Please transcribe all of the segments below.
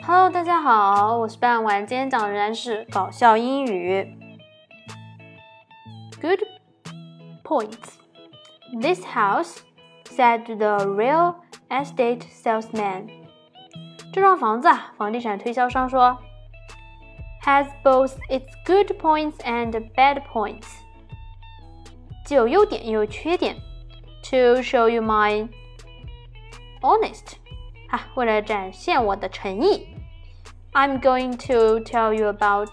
Hello， 大家好，我是半晚，今天讲的仍然是搞笑英语。Good points. This house, said the real estate salesman. 这幢房子啊，房地产推销商说 has both its good points and bad points. 既有优点也有缺点。To show you my honest. 为了展现我的诚意 I'm going to tell you about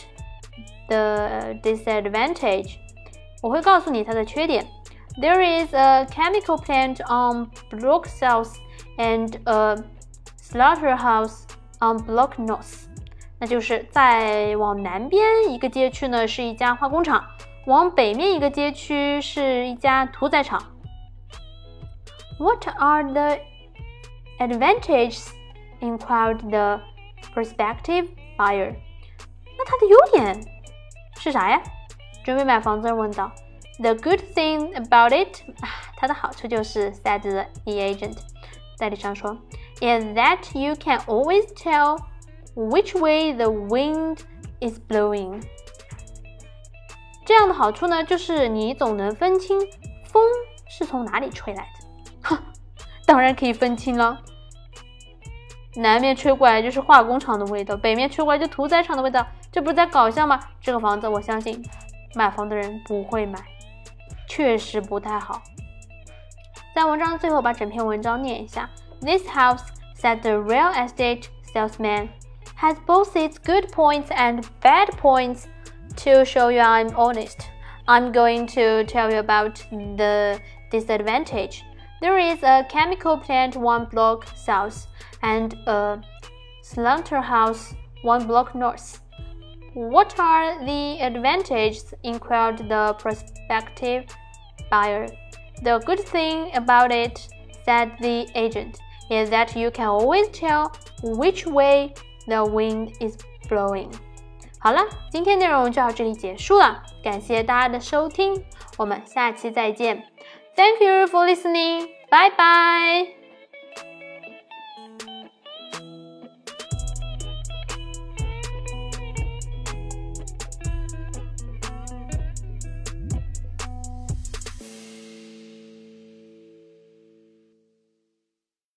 the disadvantage. 我会告诉你它的缺点 There is a chemical plant on Block South and a slaughterhouse on Block North. 那就是在往南边一个街区呢是一家化工厂，往北面一个街区是一家屠宰场。What are the advantages? Inquired the prospective buyer. 那它的优点是啥呀？准备买房子人问道。The good thing about it, 它的好处就是 said the agent. 代理商说 is that you can always tell which way the wind is blowing. 这样的好处呢，就是你总能分清风是从哪里吹来的。当然可以分清了。南面吹过来就是化工厂的味道，北面吹过来就屠宰场的味道，这不是在搞笑吗？这个房子我相信买房的人不会买，确实不太好。在文章最后把整篇文章念一下。This house, said the real estate salesman, has both its good points and bad points. To show you I'm honest, I'm going to tell you about the disadvantage. There is a chemical plant 1 block south and a slaughterhouse 1 block north. What are the advantages? Inquired the prospective buyer. The good thing about it, said the agent, is that you can always tell which way the wind is blowing. 好了，今天内容就到这里结束了，感谢大家的收听，我们下期再见。Thank you for listening. Bye bye.